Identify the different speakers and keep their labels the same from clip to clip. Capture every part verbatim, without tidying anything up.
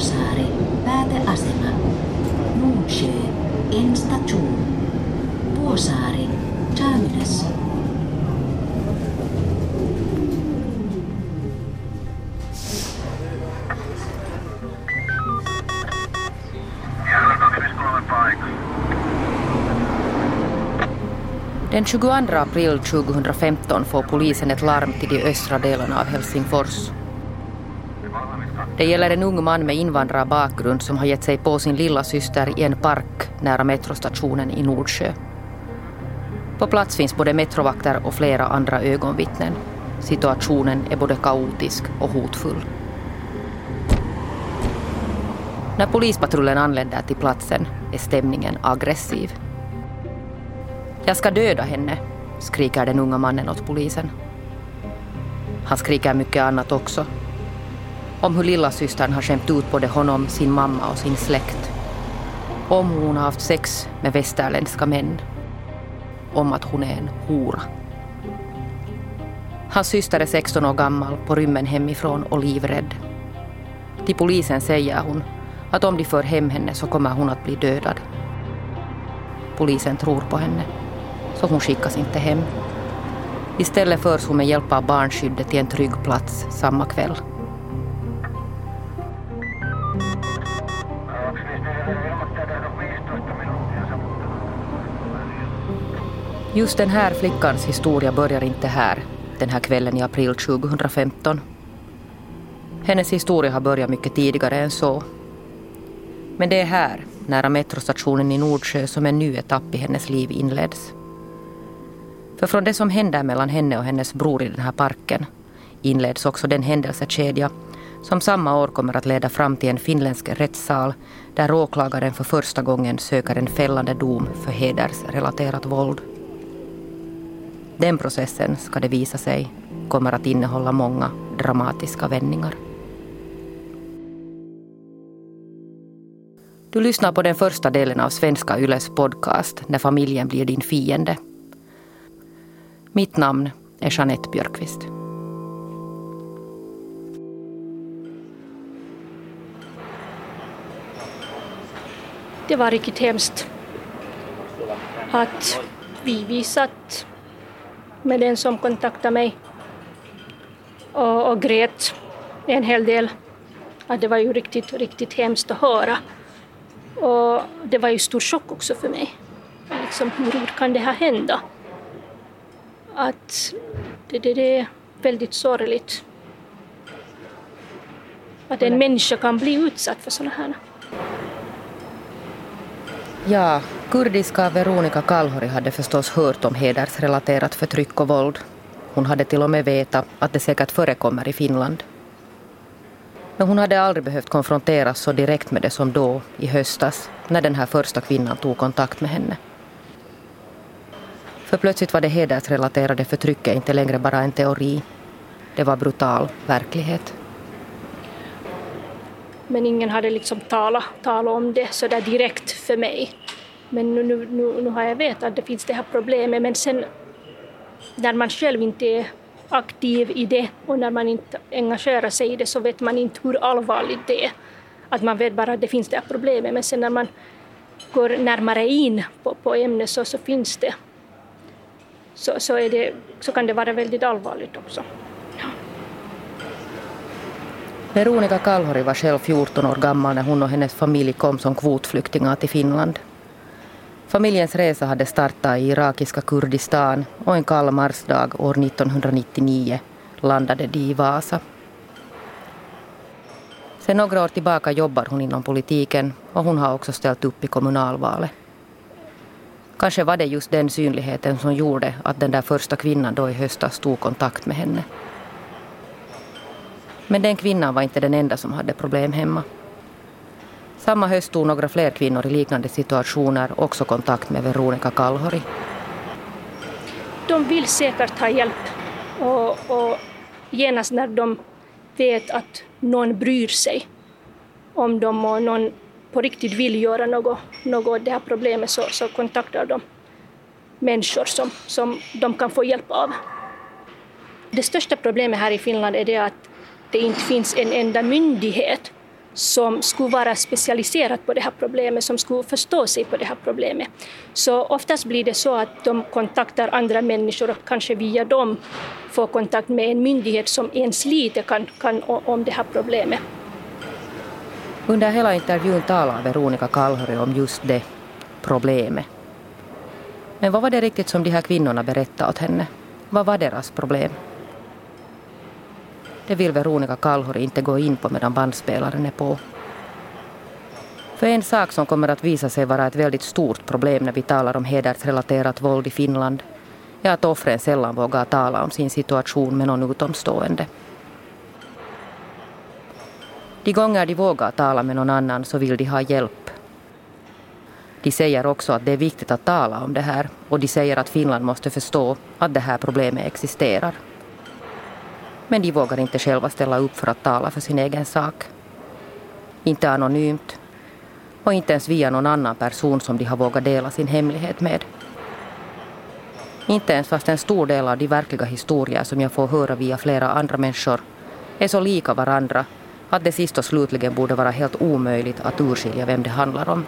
Speaker 1: Vuosaari, pääteasema. Nordsjö, en station. Vuosaari, terminus.
Speaker 2: Den tjugoandra april tjugohundrafemton får polisen ett larm till de östra delarna av Helsingfors. Det gäller en ung man med invandrarbakgrund som har gett sig på sin lilla syster i en park nära metrostationen i Nordsjö. På plats finns både metrovakter och flera andra ögonvittnen. Situationen är både kaotisk och hotfull. När polispatrullen anländer till platsen är stämningen aggressiv. Jag ska döda henne, skriker den unga mannen åt polisen. Han skriker mycket annat också. Om hur lilla systern har skämt ut både honom, sin mamma och sin släkt. Om hon har haft sex med västerländska män. Om att hon är en hora. Hans syster är sexton år gammal, på rymmen hemifrån och livrädd. Till polisen säger hon att om de för hem henne så kommer hon att bli dödad. Polisen tror på henne, så hon skickas inte hem. Istället förs hon med hjälp av barnskyddet till en trygg plats samma kväll. Just den här flickans historia börjar inte här, den här kvällen i april tjugohundrafemton. Hennes historia har börjat mycket tidigare än så. Men det är här, nära metrostationen i Nordsjö, som en ny etapp i hennes liv inleds. För från det som händer mellan henne och hennes bror i den här parken inleds också den händelsekedja som samma år kommer att leda fram till en finländsk rättssal där åklagaren för första gången söker en fällande dom för hedersrelaterat våld. Den processen, ska det visa sig, kommer att innehålla många dramatiska vändningar. Du lyssnar på den första delen av Svenska Yles podcast När familjen blir din fiende. Mitt namn är Jeanette Björkqvist.
Speaker 3: Det var riktigt hemskt att vi, vi satt med den som kontaktade mig och, och grät en hel del. Att det var ju riktigt, riktigt hemskt att höra. Och det var ju stor chock också för mig. Liksom, hur kan det här hända? Att det, det, det är väldigt sorgligt. Att en människa kan bli utsatt för sådana här.
Speaker 2: Ja, kurdiska Veronica Kalhori hade förstås hört om hedersrelaterat förtryck och våld. Hon hade till och med vetat att det säkert förekommer i Finland. Men hon hade aldrig behövt konfronteras så direkt med det som då, i höstas, när den här första kvinnan tog kontakt med henne. För plötsligt var det hedersrelaterade förtrycket inte längre bara en teori. Det var brutal verklighet.
Speaker 3: Men ingen hade liksom talat, talat om det så där direkt för mig. Men nu, nu, nu, nu har jag vetat att det finns det här problemet. Men sen när man själv inte är aktiv i det och när man inte engagerar sig i det så vet man inte hur allvarligt det är. Att man vet bara att det finns det här problemet. Men sen när man går närmare in på, på ämnet så, så finns det. Så, så, är det. Så kan det vara väldigt allvarligt också. Ja.
Speaker 2: Veronica Kalhori var själv fjorton år gammal när hon och hennes familj kom som kvotflyktingar till Finland. Familjens resa hade startat i irakiska Kurdistan och en kall marsdag år nittonhundranittionio landade de i Vasa. Sen några år tillbaka jobbar hon inom politiken och hon har också ställt upp i kommunalvalet. Kanske var det just den synligheten som gjorde att den där första kvinnan då i höstas tog kontakt med henne. Men den kvinnan var inte den enda som hade problem hemma. Samma höst tog några fler kvinnor i liknande situationer också kontakt med Veronica Kalhori.
Speaker 3: De vill säkert ha hjälp och, och genast när de vet att någon bryr sig om dem och någon på riktigt vill göra något, något av det här problemet så, så kontaktar de människor som, som de kan få hjälp av. Det största problemet här i Finland är det att det inte finns en enda myndighet som skulle vara specialiserat på det här problemet, som skulle förstå sig på det här problemet. Så oftast blir det så att de kontaktar andra människor och kanske via dem får kontakt med en myndighet som ens lite kan, kan om det här problemet.
Speaker 2: Under hela intervjun talar Veronica Kalhori om just det problemet. Men vad var det riktigt som de här kvinnorna berättade åt henne? Vad var deras problem? Det vill Veronica Kalhori inte gå in på medan bandspelaren är på. För en sak som kommer att visa sig vara ett väldigt stort problem när vi talar om hedersrelaterat våld i Finland är att offren sällan vågar tala om sin situation med någon utomstående. De gånger de vågar tala med någon annan så vill de ha hjälp. De säger också att det är viktigt att tala om det här och de säger att Finland måste förstå att det här problemet existerar. Men de vågar inte själva ställa upp för att tala för sin egen sak. Inte anonymt och inte ens via någon annan person som de har vågat dela sin hemlighet med. Inte ens fast en stor del av de verkliga historier som jag får höra via flera andra människor är så lika varandra att det sist och slutligen borde vara helt omöjligt att urskilja vem det handlar om.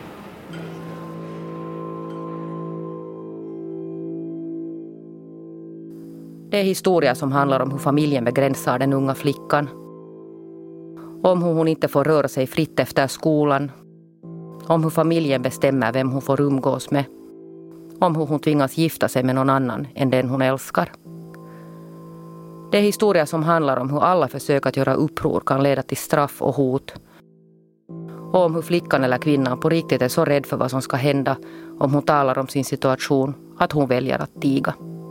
Speaker 2: Det är historier som handlar om hur familjen begränsar den unga flickan. Om hur hon inte får röra sig fritt efter skolan. Om hur familjen bestämmer vem hon får umgås med. Om hur hon tvingas gifta sig med någon annan än den hon älskar. Det är historier som handlar om hur alla försök att göra uppror kan leda till straff och hot. Och om hur flickan eller kvinnan på riktigt är så rädd för vad som ska hända om hon talar om sin situation att hon väljer att tiga.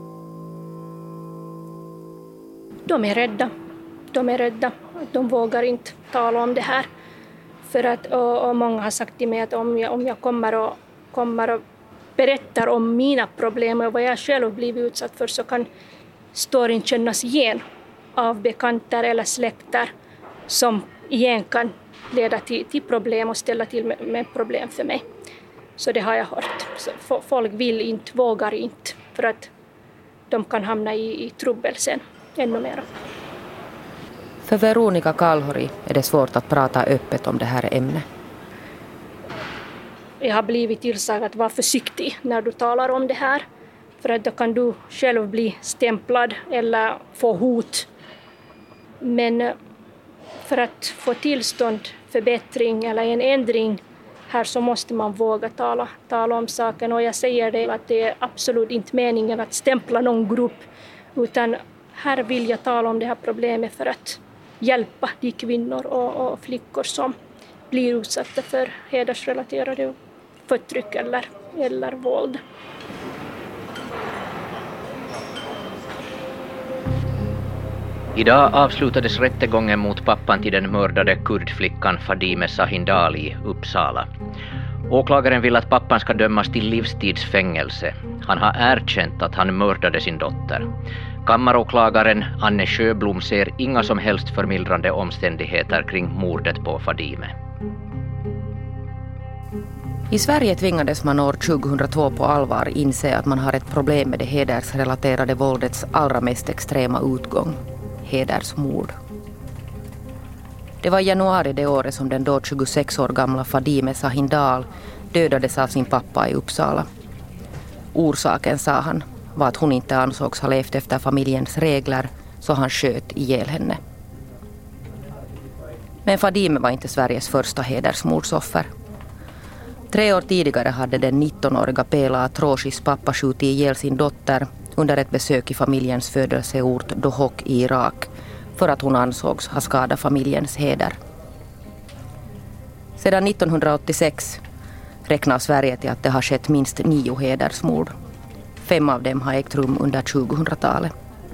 Speaker 3: De är rädda. De är rädda. De vågar inte tala om det här. För att, och, och många har sagt till mig att om jag, om jag kommer, och, kommer och berättar om mina problem och vad jag själv blivit utsatt för så kan storyn kännas igen av bekanter eller släkter som igen kan leda till, till problem och ställa till med, med problem för mig. Så det har jag hört. Så folk vill inte, vågar inte för att de kan hamna i, i trubbel sen. Ännu mer.
Speaker 2: För Veronica Kalhori är det svårt att prata öppet om det här ämnet.
Speaker 3: Jag har blivit tillsagd att vara försiktig när du talar om det här. För att då kan du själv bli stämplad eller få hot. Men för att få tillstånd, förbättring eller en ändring här så måste man våga tala, tala om saken. Och jag säger det att det är absolut inte meningen att stämpla någon grupp utan här vill jag tala om det här problemet för att hjälpa de kvinnor och, och flickor som blir utsatta för hedersrelaterade förtryck eller, eller våld.
Speaker 4: Idag avslutades rättegången mot pappan till den mördade kurdflickan Fadime Sahindal i Uppsala. Åklagaren vill att pappan ska dömas till livstidsfängelse. Han har erkänt att han mördade sin dotter. Kammaråklagaren Anne Sjöblom ser inga som helst förmildrande omständigheter kring mordet på Fadime.
Speaker 2: I Sverige tvingades man år tjugohundratvå på allvar inse att man har ett problem med det hedersrelaterade våldets allra mest extrema utgång, hedersmord. Det var i januari det året som den då tjugosex år gamla Fadime Sahindal dödades av sin pappa i Uppsala. Orsaken, sa han, var att hon inte ansågs ha levt efter familjens regler så han sköt ihjäl henne. Men Fadime var inte Sveriges första hedersmordsoffer. Tre år tidigare hade den nittonåriga Pela Atroshis pappa skjutit ihjäl sin dotter under ett besök i familjens födelseort Dohok i Irak för att hon ansågs ha skadat familjens heder. Sedan nittonhundraåttiosex räknar Sverige till att det har skett minst nio hedersmord. Fem av dem har ägt rum under tjugohundratalet.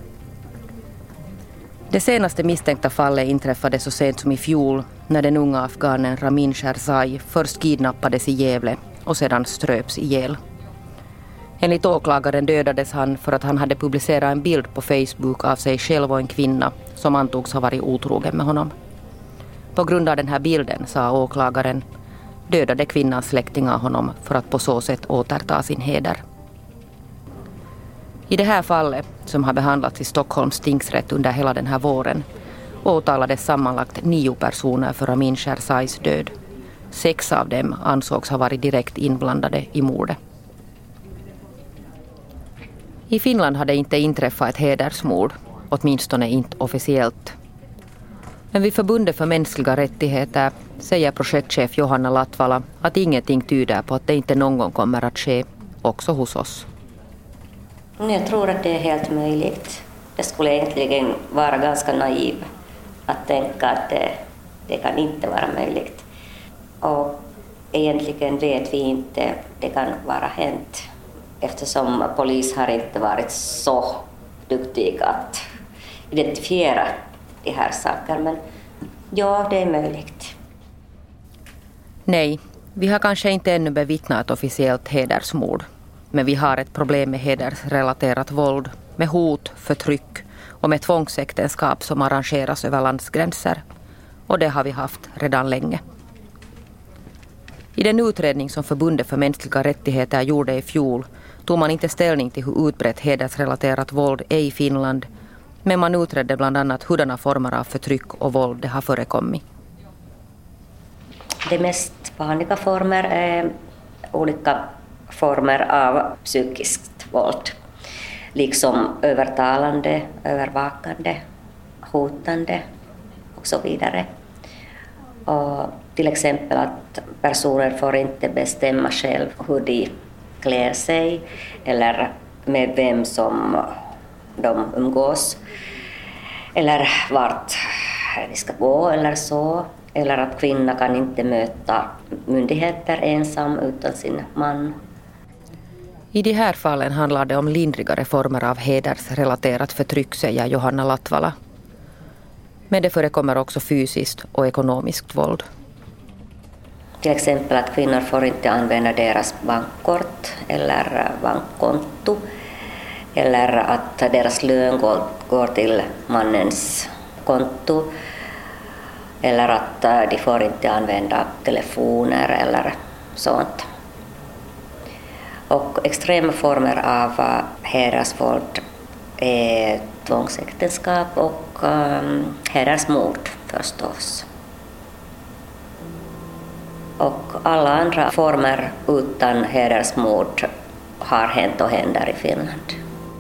Speaker 2: Det senaste misstänkta fallet inträffade så sent som i fjol när den unga afghanen Ramin Sherzai först kidnappades i Gävle och sedan ströps ihjäl. Enligt åklagaren dödades han för att han hade publicerat en bild på Facebook av sig själv och en kvinna som antogs ha varit otrogen med honom. På grund av den här bilden, sa åklagaren, dödade kvinnans släktingar honom för att på så sätt återta sin heder. I det här fallet, som har behandlats i Stockholms tingsrätt under hela den här våren, åtalades sammanlagt nio personer för Amin Sherzais död. Sex av dem ansågs ha varit direkt inblandade i mordet. I Finland hade inte inträffat ett hedersmord, åtminstone inte officiellt. Men vid Förbundet för mänskliga rättigheter säger projektchef Johanna Latvala att ingenting tyder på att det inte någon gång kommer att ske, också hos oss.
Speaker 5: Jag tror att det är helt möjligt. Det skulle egentligen vara ganska naiv att tänka att det, det kan inte vara möjligt. Och egentligen vet vi inte det kan vara hänt eftersom polis har inte varit så duktig att identifiera de här sakerna. Men ja, det är möjligt.
Speaker 2: Nej, vi har kanske inte ännu bevittnat ett officiellt hedersmord. Men vi har ett problem med hedersrelaterat våld, med hot, förtryck och med tvångsäktenskap som arrangeras över landsgränser. Och det har vi haft redan länge. I den utredning som Förbundet för mänskliga rättigheter gjorde i fjol tog man inte ställning till hur utbrett hedersrelaterat våld är i Finland, men man utredde bland annat hurdana former av förtryck och våld det har förekommit.
Speaker 5: De mest vanliga former är olika former av psykiskt våld, liksom övertalande, övervakande, hotande och så vidare. Och till exempel att personer får inte bestämma själv hur de klär sig eller med vem som de umgås eller vart de ska gå eller så. Eller att kvinnan kan inte möta myndigheter ensam utan sin man.
Speaker 2: I de här fallen handlar det om lindrigare former av hedersrelaterat förtryck, säger Johanna Latvala. Men det förekommer också fysiskt och ekonomiskt våld.
Speaker 5: Till exempel att kvinnor får inte använda deras bankkort eller bankkonto. Eller att deras lön går, går till mannens konto. Eller att de får inte använda telefoner eller sånt. Och extrema former av hedersvåld är tvångsäktenskap och um, hedersmord förstås. Och alla andra former utan hedersmord har hänt och händer i Finland.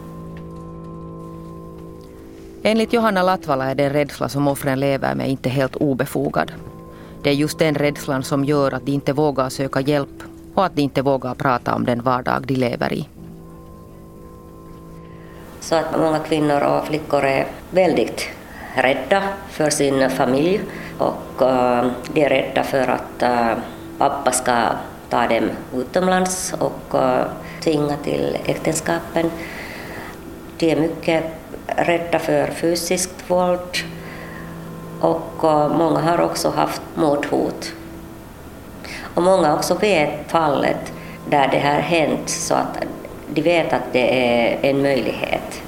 Speaker 2: Enligt Johanna Latvala är den rädsla som offren lever med inte helt obefogad. Det är just den rädslan som gör att de inte vågar söka hjälp och att de inte vågar prata om den vardag de lever i.
Speaker 5: Så att många kvinnor och flickor är väldigt rädda för sin familj och uh, de är rädda för att uh, pappa ska ta dem utomlands och uh, tvinga till äktenskapen. De är mycket rädda för fysiskt våld och uh, många har också haft mordhot. Och många också vet fallet där det har hänt så att de vet att det är en möjlighet.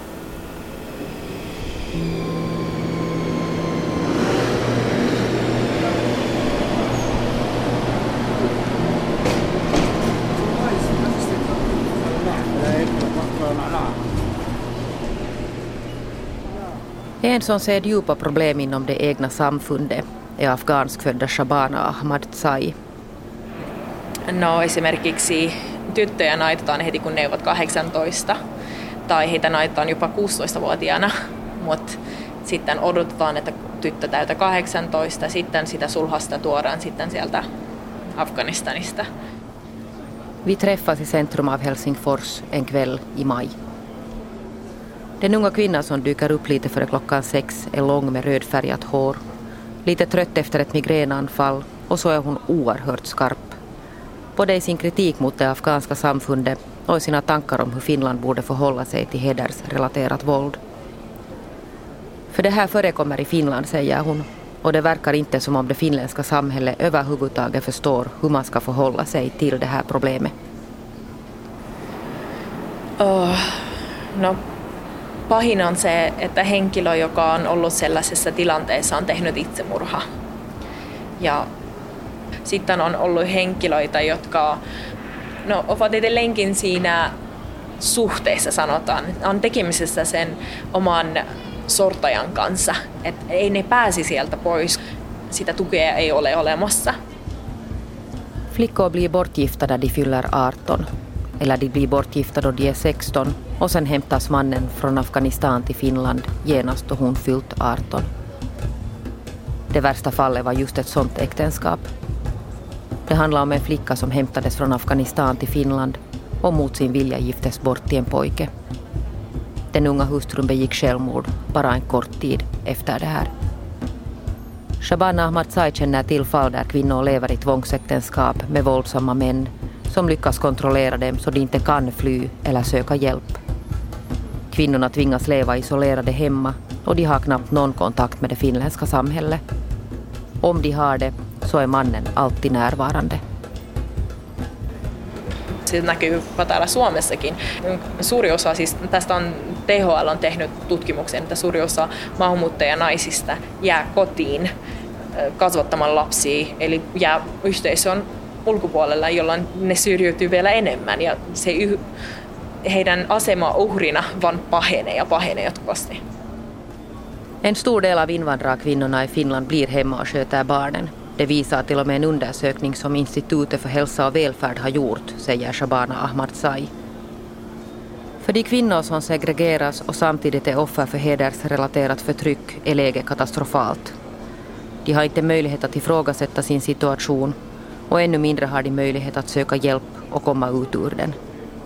Speaker 2: En som ser djupa problem inom det egna samfundet är afghanskfödda Shabana Ahmadzai.
Speaker 6: No esimerkiksi tyttöjä naitetaan heti kun ne ovat kahdeksantoista tai heitä naitetaan jopa kuusitoistavuotiaana, mutta sitten odotetaan, että tyttö täytä kahdeksantoista, sitten sitä sulhasta tuodaan sitten sieltä Afganistanista.
Speaker 2: Vi träffas i centrum av Helsingfors en kväll i maj. Den unga kvinnan som dyker upp lite före klockan sex är lång med rödfärgat hår, lite trött efter ett migränanfall och så är hon oerhört skarp. Både i sin kritik mot det afghanska samfundet och i sina tankar om hur Finland borde förhålla sig till hedersrelaterat våld. För det här förekommer i Finland, säger hon, och det verkar inte som om det finländska samhället överhuvudtaget förstår hur man ska förhålla sig till det här problemet.
Speaker 6: Oh, no, pahin on se, että henkilö, joka on ollut sellaisessa tilanteessa, on tehnyt itsemurha. Ja sitten on ollut henkilöitä, jotka no, ovat edelleenkin siinä suhteessa, sanotaan. On tekemisessä sen oman sortajan kanssa. Et ei ne pääsi sieltä pois. Sitä tukea ei ole olemassa.
Speaker 2: Flickor blir bortgifta när de fyller arton. Eller de blir bortgifta då de är sexton och sen hämtas mannen från Afghanistan till Finland genast då hon fyllt arton. Det värsta fallet var just ett sånt äktenskap. Det handlar om en flicka som hämtades från Afghanistan till Finland och mot sin vilja giftes bort till en pojke. Den unga hustrun begick självmord bara en kort tid efter det här. Shabana Ahmadzai känner till fall där kvinnor lever i tvångsäktenskap med våldsamma män som lyckas kontrollera dem så de inte kan fly eller söka hjälp. Kvinnorna tvingas leva isolerade hemma och de har knappt någon kontakt med det finländska samhället. Om de har det så är mannen alltid närvarande.
Speaker 6: Se näkyy täällä Suomessakin. Suuri osa, siis tästä on T H L on tehnyt tutkimuksen, että suuri osa maahanmuuttajanaisista jää kotiin kasvattamaan lapsia, eli jää yhteisön ulkopuolella, jolloin ne syrjiytyy vielä enemmän ja se yh- heidän asema uhrina vaan pahenee ja pahenee jatkuvasti.
Speaker 2: En stor del av invandrarkvinnorna i Finland blir hemma och sköter barnen. Det visar till och med en undersökning som Institutet för hälsa och välfärd har gjort, säger Shabana Ahmadzai. För de kvinnor som segregeras och samtidigt är offer för hedersrelaterat förtryck är läget katastrofalt. De har inte möjlighet att ifrågasätta sin situation och ännu mindre har de möjlighet att söka hjälp och komma ut ur den.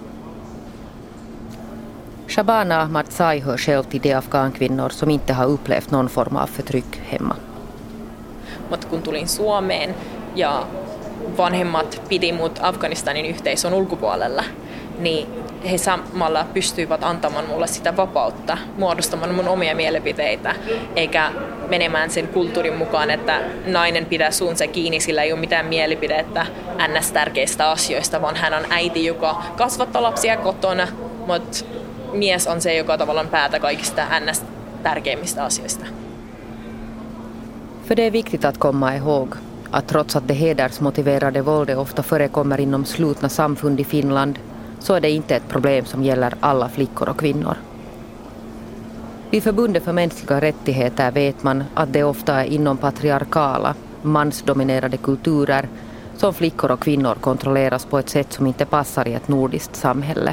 Speaker 2: Shabana Ahmadzai hör själv till de afghankvinnor som inte har upplevt någon form av förtryck hemma.
Speaker 6: Mutta kun tulin Suomeen ja vanhemmat piti mut Afganistanin yhteisön ulkopuolella, niin he samalla pystyivät antamaan mulle sitä vapautta, muodostamaan mun omia mielipiteitä, eikä menemään sen kulttuurin mukaan, että nainen pitää suunsa kiinni, sillä ei ole mitään mielipidettä ns. Tärkeistä asioista, vaan hän on äiti, joka kasvattaa lapsia kotona, mutta mies on se, joka tavallaan päätä kaikista ns. Tärkeimmistä asioista.
Speaker 2: För det är viktigt att komma ihåg att trots att det hedersmotiverade våldet ofta förekommer inom slutna samfund i Finland så är det inte ett problem som gäller alla flickor och kvinnor. Vid Förbundet för mänskliga rättigheter vet man att det ofta är inom patriarkala, mansdominerade kulturer som flickor och kvinnor kontrolleras på ett sätt som inte passar i ett nordiskt samhälle.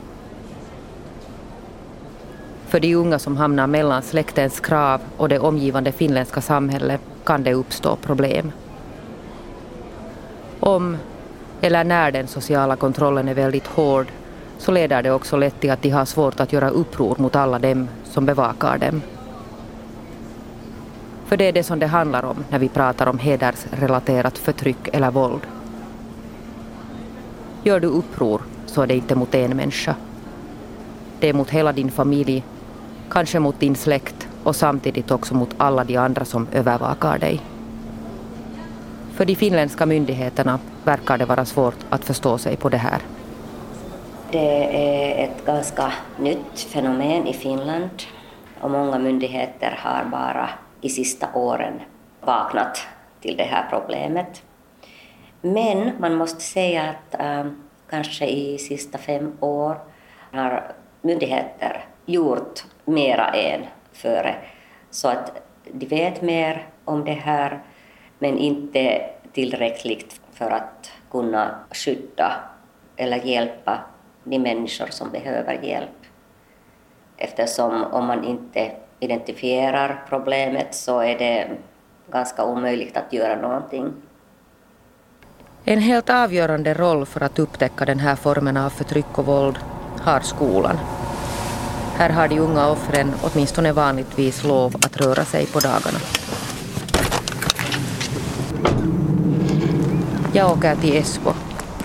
Speaker 2: För de unga som hamnar mellan släktens krav och det omgivande finländska samhället kan det uppstå problem. Om eller när den sociala kontrollen är väldigt hård så leder det också lätt till att de har svårt att göra uppror mot alla dem som bevakar dem. För det är det som det handlar om när vi pratar om hedersrelaterat förtryck eller våld. Gör du uppror så är det inte mot en människa. Det är mot hela din familj, kanske mot din släkt och samtidigt också mot alla de andra som övervakar dig. För de finländska myndigheterna verkar det vara svårt att förstå sig på det här.
Speaker 5: Det är ett ganska nytt fenomen i Finland och många myndigheter har bara i sista åren vaknat till det här problemet. Men man måste säga att äh, kanske i sista fem år har myndigheter gjort mera än före. Så att de vet mer om det här men inte tillräckligt för att kunna skydda eller hjälpa de människor som behöver hjälp. Eftersom om man inte identifierar problemet så är det ganska omöjligt att göra någonting.
Speaker 2: En helt avgörande roll för att upptäcka den här formen av förtryck och våld har skolan. Här har de unga offren åtminstone vanligtvis lov att röra sig på dagarna. Jag åker till Esbo.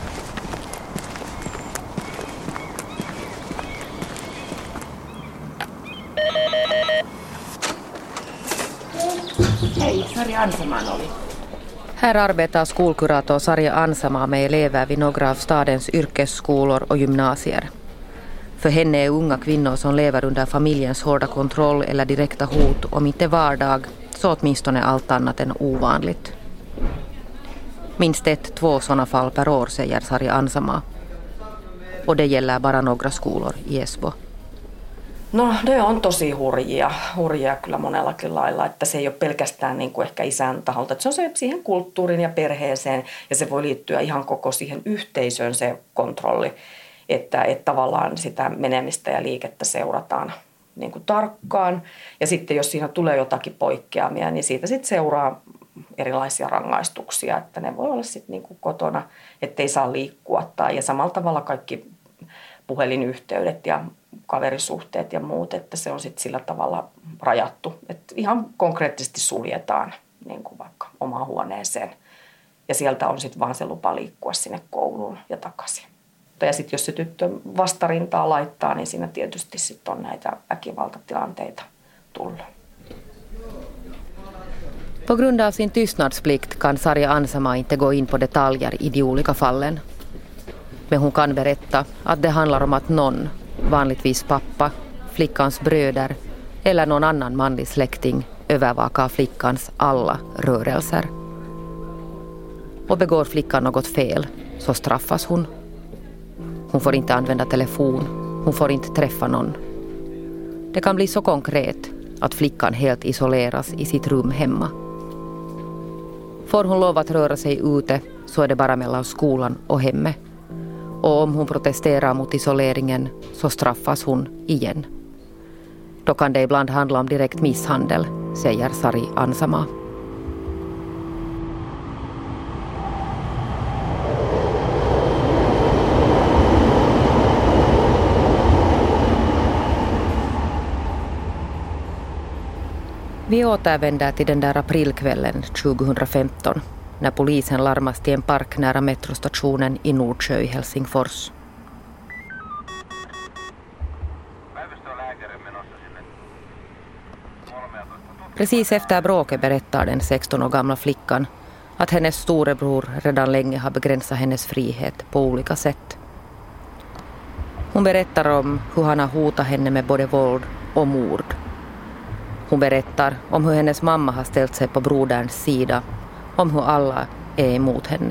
Speaker 7: Hej, Sarja Ansaman oli.
Speaker 2: Här arbetar skolkurator Sarja Ansama med elever vid några av stadens yrkesskolor och gymnasier. För henne är unga kvinnor som lever under familjens hårda kontroll eller direkta hot, om inte vardag, så åtminstone allt annat än ovanligt. Minst ett, två sådana fall per år, säger Sarja Ansama. Och det gäller bara några skolor i Esbo.
Speaker 7: No ne on tosi hurjia, hurjia kyllä monellakin lailla, että se ei ole pelkästään niin kuin ehkä isän taholta, että se on se siihen kulttuuriin ja perheeseen ja se voi liittyä ihan koko siihen yhteisöön se kontrolli, että, että tavallaan sitä menemistä ja liikettä seurataan niin kuin tarkkaan ja sitten jos siinä tulee jotakin poikkeamia, niin siitä sitten seuraa erilaisia rangaistuksia, että ne voi olla sitten niin kuin kotona, ettei saa liikkua tai ja samalla tavalla kaikki puhelinyhteydet ja kaverisuhteet ja muut, että se on sitten sillä tavalla rajattu, että ihan konkreettisesti suljetaan niin kuin vaikka omaan huoneeseen ja sieltä on sitten vaan se lupa liikkua sinne kouluun ja takaisin. Ja sitten jos se tyttö vastarintaa laittaa, niin siinä tietysti sitten on näitä väkivaltatilanteita tullut.
Speaker 2: På grund av sin tystnadsplikt kan Sarja Ansama inte gå in på detaljer i de olika fallen. Men hon kan berätta att det handlar om att någon, vanligtvis pappa, flickans bröder eller någon annan manlig släkting övervakar flickans alla rörelser. Och begår flickan något fel så straffas hon. Hon får inte använda telefon, hon får inte träffa någon. Det kan bli så konkret att flickan helt isoleras i sitt rum hemma. Får hon lov att röra sig ute så är det bara mellan skolan och hemmet. Och om hon protesterar mot isoleringen så straffas hon igen. Då kan det ibland handla om direkt misshandel, säger Sari Ansama. Vi återvänder till den där aprilkvällen tjugohundrafemton när polisen larmas till en park nära metrostationen i Nordsjö i Helsingfors. Precis efter bråket berättar den sexton år gamla flickan att hennes storebror redan länge har begränsat hennes frihet på olika sätt. Hon berättar om hur han har hotat henne med både våld och mord. Hon berättar om hur hennes mamma har ställt sig på broderns sida, om hur alla är emot henne.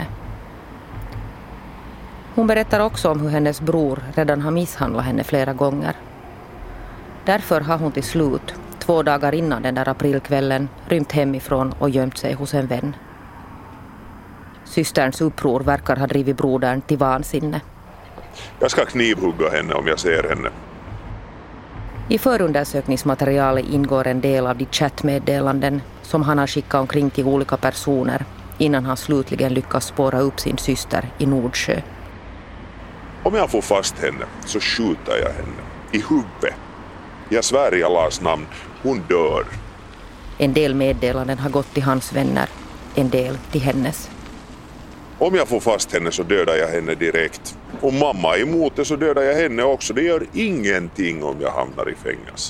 Speaker 2: Hon berättar också om hur hennes bror redan har misshandlat henne flera gånger. Därför har hon till slut, två dagar innan den där aprilkvällen, rymt hemifrån och gömt sig hos en vän. Systerns uppror verkar ha drivit brodern till vansinne.
Speaker 8: Jag ska knivhugga henne om jag ser henne.
Speaker 2: I förundersökningsmaterialet ingår en del av de chattmeddelanden som han har skickat omkring till olika personer innan han slutligen lyckas spåra upp sin syster i Nordsjö.
Speaker 8: Om jag får fast henne så skjuter jag henne i huvudet. Jag svär i Allahs namn, hon dör.
Speaker 2: En del meddelanden har gått till hans vänner, en del till hennes.
Speaker 8: Om jag får fast henne så dödar jag henne direkt. Om mamma är emot det så dödar jag henne också. Det gör ingenting om jag hamnar i fängelse.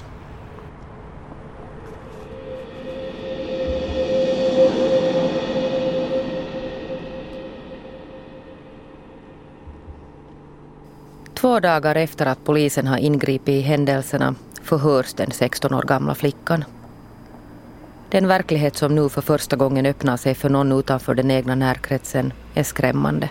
Speaker 2: Två dagar efter att polisen har ingripit i händelserna förhörs den sexton år gamla flickan. Den verklighet som nu för första gången öppnar sig för någon utanför den egna närkretsen är skrämmande.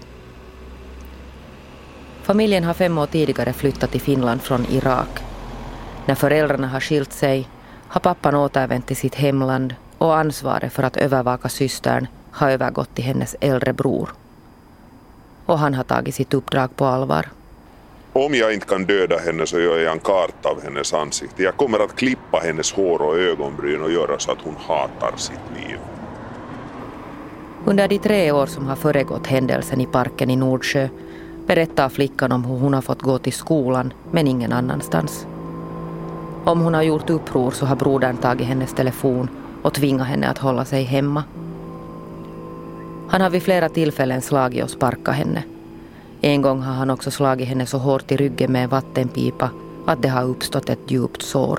Speaker 2: Familjen har fem år tidigare flyttat till Finland från Irak. När föräldrarna har skilt sig har pappan återvänt till sitt hemland och ansvaret för att övervaka systern har övergått till hennes äldre bror. Och han har tagit sitt uppdrag på allvar.
Speaker 8: Om jag inte kan döda henne så gör jag en karta av hennes ansikte. Jag kommer att klippa hennes hår och ögonbryn och göra så att hon hatar sitt liv.
Speaker 2: Under de tre år som har föregått händelsen i parken i Nordsjö berättar flickan om hur hon har fått gå till skolan men ingen annanstans. Om hon har gjort uppror så har brodern tagit hennes telefon och tvingat henne att hålla sig hemma. Han har vid flera tillfällen slagit och sparkat henne. En gång har han också slagit henne så hårt i ryggen med en vattenpipa att det har uppstått ett djupt sår.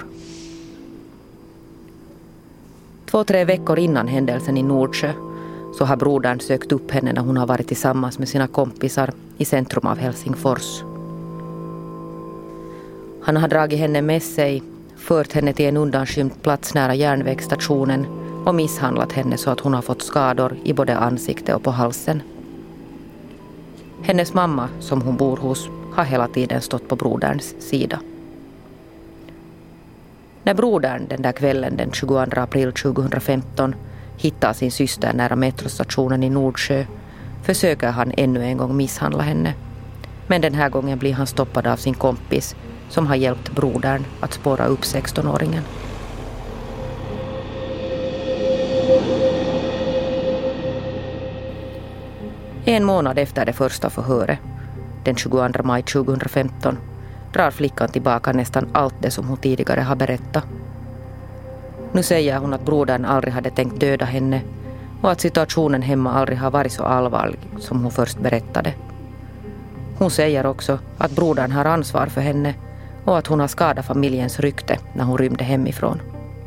Speaker 2: Två, tre veckor innan händelsen i Nordsjö så har brodern sökt upp henne när hon har varit tillsammans med sina kompisar i centrum av Helsingfors. Han har dragit henne med sig, fört henne till en undanskymd plats nära järnvägsstationen och misshandlat henne så att hon har fått skador i både ansikte och på halsen. Hennes mamma, som hon bor hos, har hela tiden stått på broderns sida. När brodern den där kvällen den tjugoandra april tjugohundrafemton hittar sin syster nära metrostationen i Nordsjö försöker han ännu en gång misshandla henne. Men den här gången blir han stoppad av sin kompis som har hjälpt brodern att spåra upp sextonåringen. En månad efter det första förhöret, den tjugoandra maj tjugohundrafemton, drar flickan tillbaka nästan allt det som hon tidigare har berättat. Nu säger hon att brodern aldrig hade tänkt döda henne och att situationen hemma aldrig har varit så allvarlig som hon först berättade. Hon säger också att brodern har ansvar för henne och att hon har skadat familjens rykte när hon rymde hemifrån.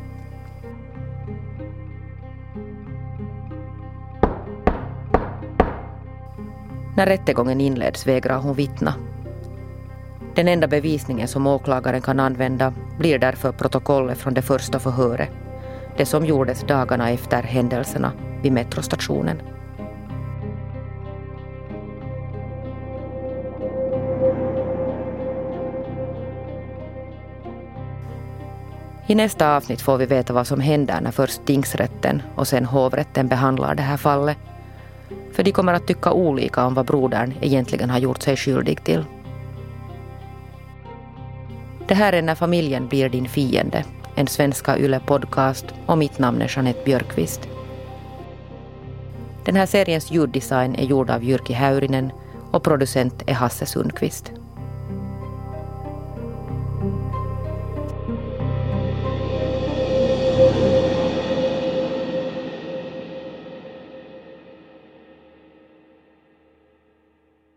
Speaker 2: När rättegången inleds vägrar hon vittna. Den enda bevisningen som åklagaren kan använda blir därför protokollet från det första förhöret, det som gjordes dagarna efter händelserna vid metrostationen. I nästa avsnitt får vi veta vad som händer när först tingsrätten och sen hovrätten behandlar det här fallet. För de kommer att tycka olika om vad brodern egentligen har gjort sig skyldig till. Det här är När familjen blir din fiende, en Svenska Yle-podcast, och mitt namn är Jeanette Björkqvist. Den här seriens ljuddesign är gjord av Jyrki Häyrinen och producent är Hasse Sundqvist.